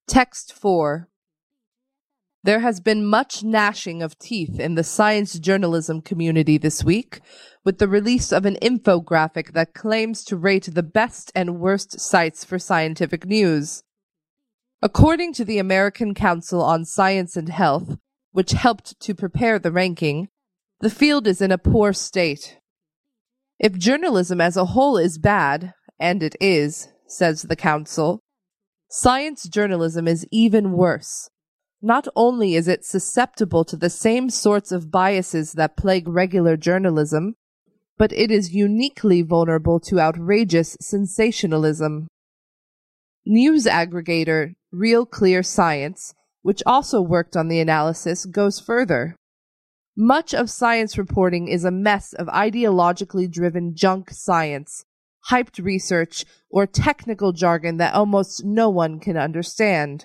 Text 4. There has been much gnashing of teeth in the science journalism community this week, with the release of an infographic that claims to rate the best and worst sites for scientific news. According to the American Council on Science and Health, which helped to prepare the ranking, the field is in a poor state. If journalism as a whole is bad, and it is, says the Council, science journalism is even worse. Not only is it susceptible to the same sorts of biases that plague regular journalism, but it is uniquely vulnerable to outrageous sensationalism. News aggregator Real Clear Science, which also worked on the analysis, goes further. Much of science reporting is a mess of ideologically driven junk science, hyped research, or technical jargon that almost no one can understand.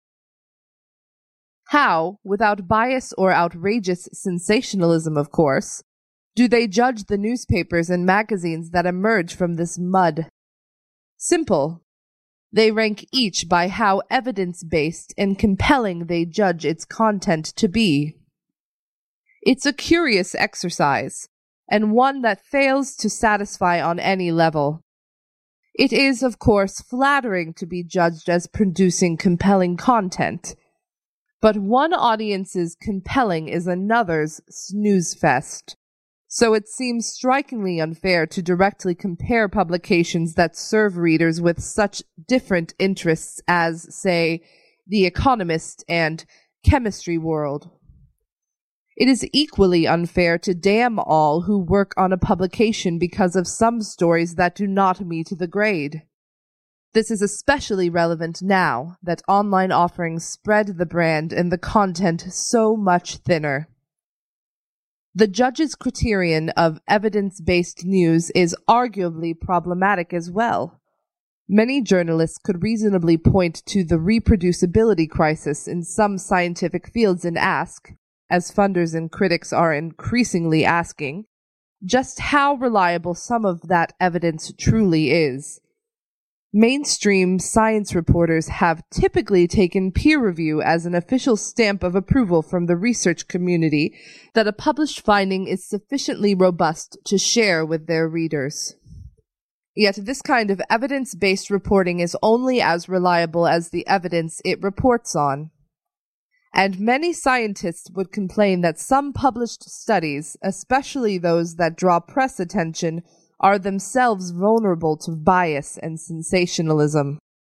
How, without bias or outrageous sensationalism, of course, do they judge the newspapers and magazines that emerge from this mud? Simple. They rank each by how evidence-based and compelling they judge its content to be. It's a curious exercise, and one that fails to satisfy on any level. It is, of course, flattering to be judged as producing compelling content, but one audience's compelling is another's snooze fest. So it seems strikingly unfair to directly compare publications that serve readers with such different interests as, say, The Economist and Chemistry World. It is equally unfair to damn all who work on a publication because of some stories that do not meet the grade. This is especially relevant now that online offerings spread the brand and the content so much thinner. The judge's criterion of evidence-based news is arguably problematic as well. Many journalists could reasonably point to the reproducibility crisis in some scientific fields and ask, as funders and critics are increasingly asking, just how reliable some of that evidence truly is. Mainstream science reporters have typically taken peer review as an official stamp of approval from the research community that a published finding is sufficiently robust to share with their readers. Yet this kind of evidence-based reporting is only as reliable as the evidence it reports on. And many scientists would complain that some published studies, especially those that draw press attention, are themselves vulnerable to bias and sensationalism.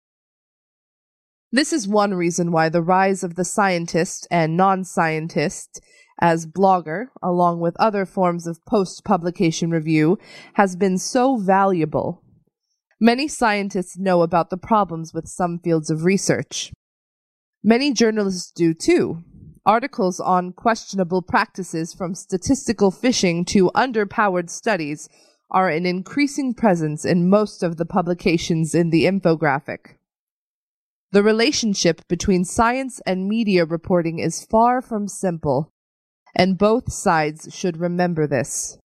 This is one reason why the rise of the scientist and non-scientist as blogger, along with other forms of post-publication review, has been so valuable. Many scientists know about the problems with some fields of research. Many journalists do too. Articles on questionable practices from statistical fishing to underpowered studies are an increasing presence in most of the publications in the infographic. The relationship between science and media reporting is far from simple, and both sides should remember this.